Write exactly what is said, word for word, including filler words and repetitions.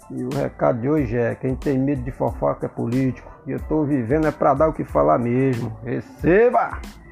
E o recado de hoje é: quem tem medo de fofoca é político. E eu tô vivendo é pra dar o que falar mesmo. Receba!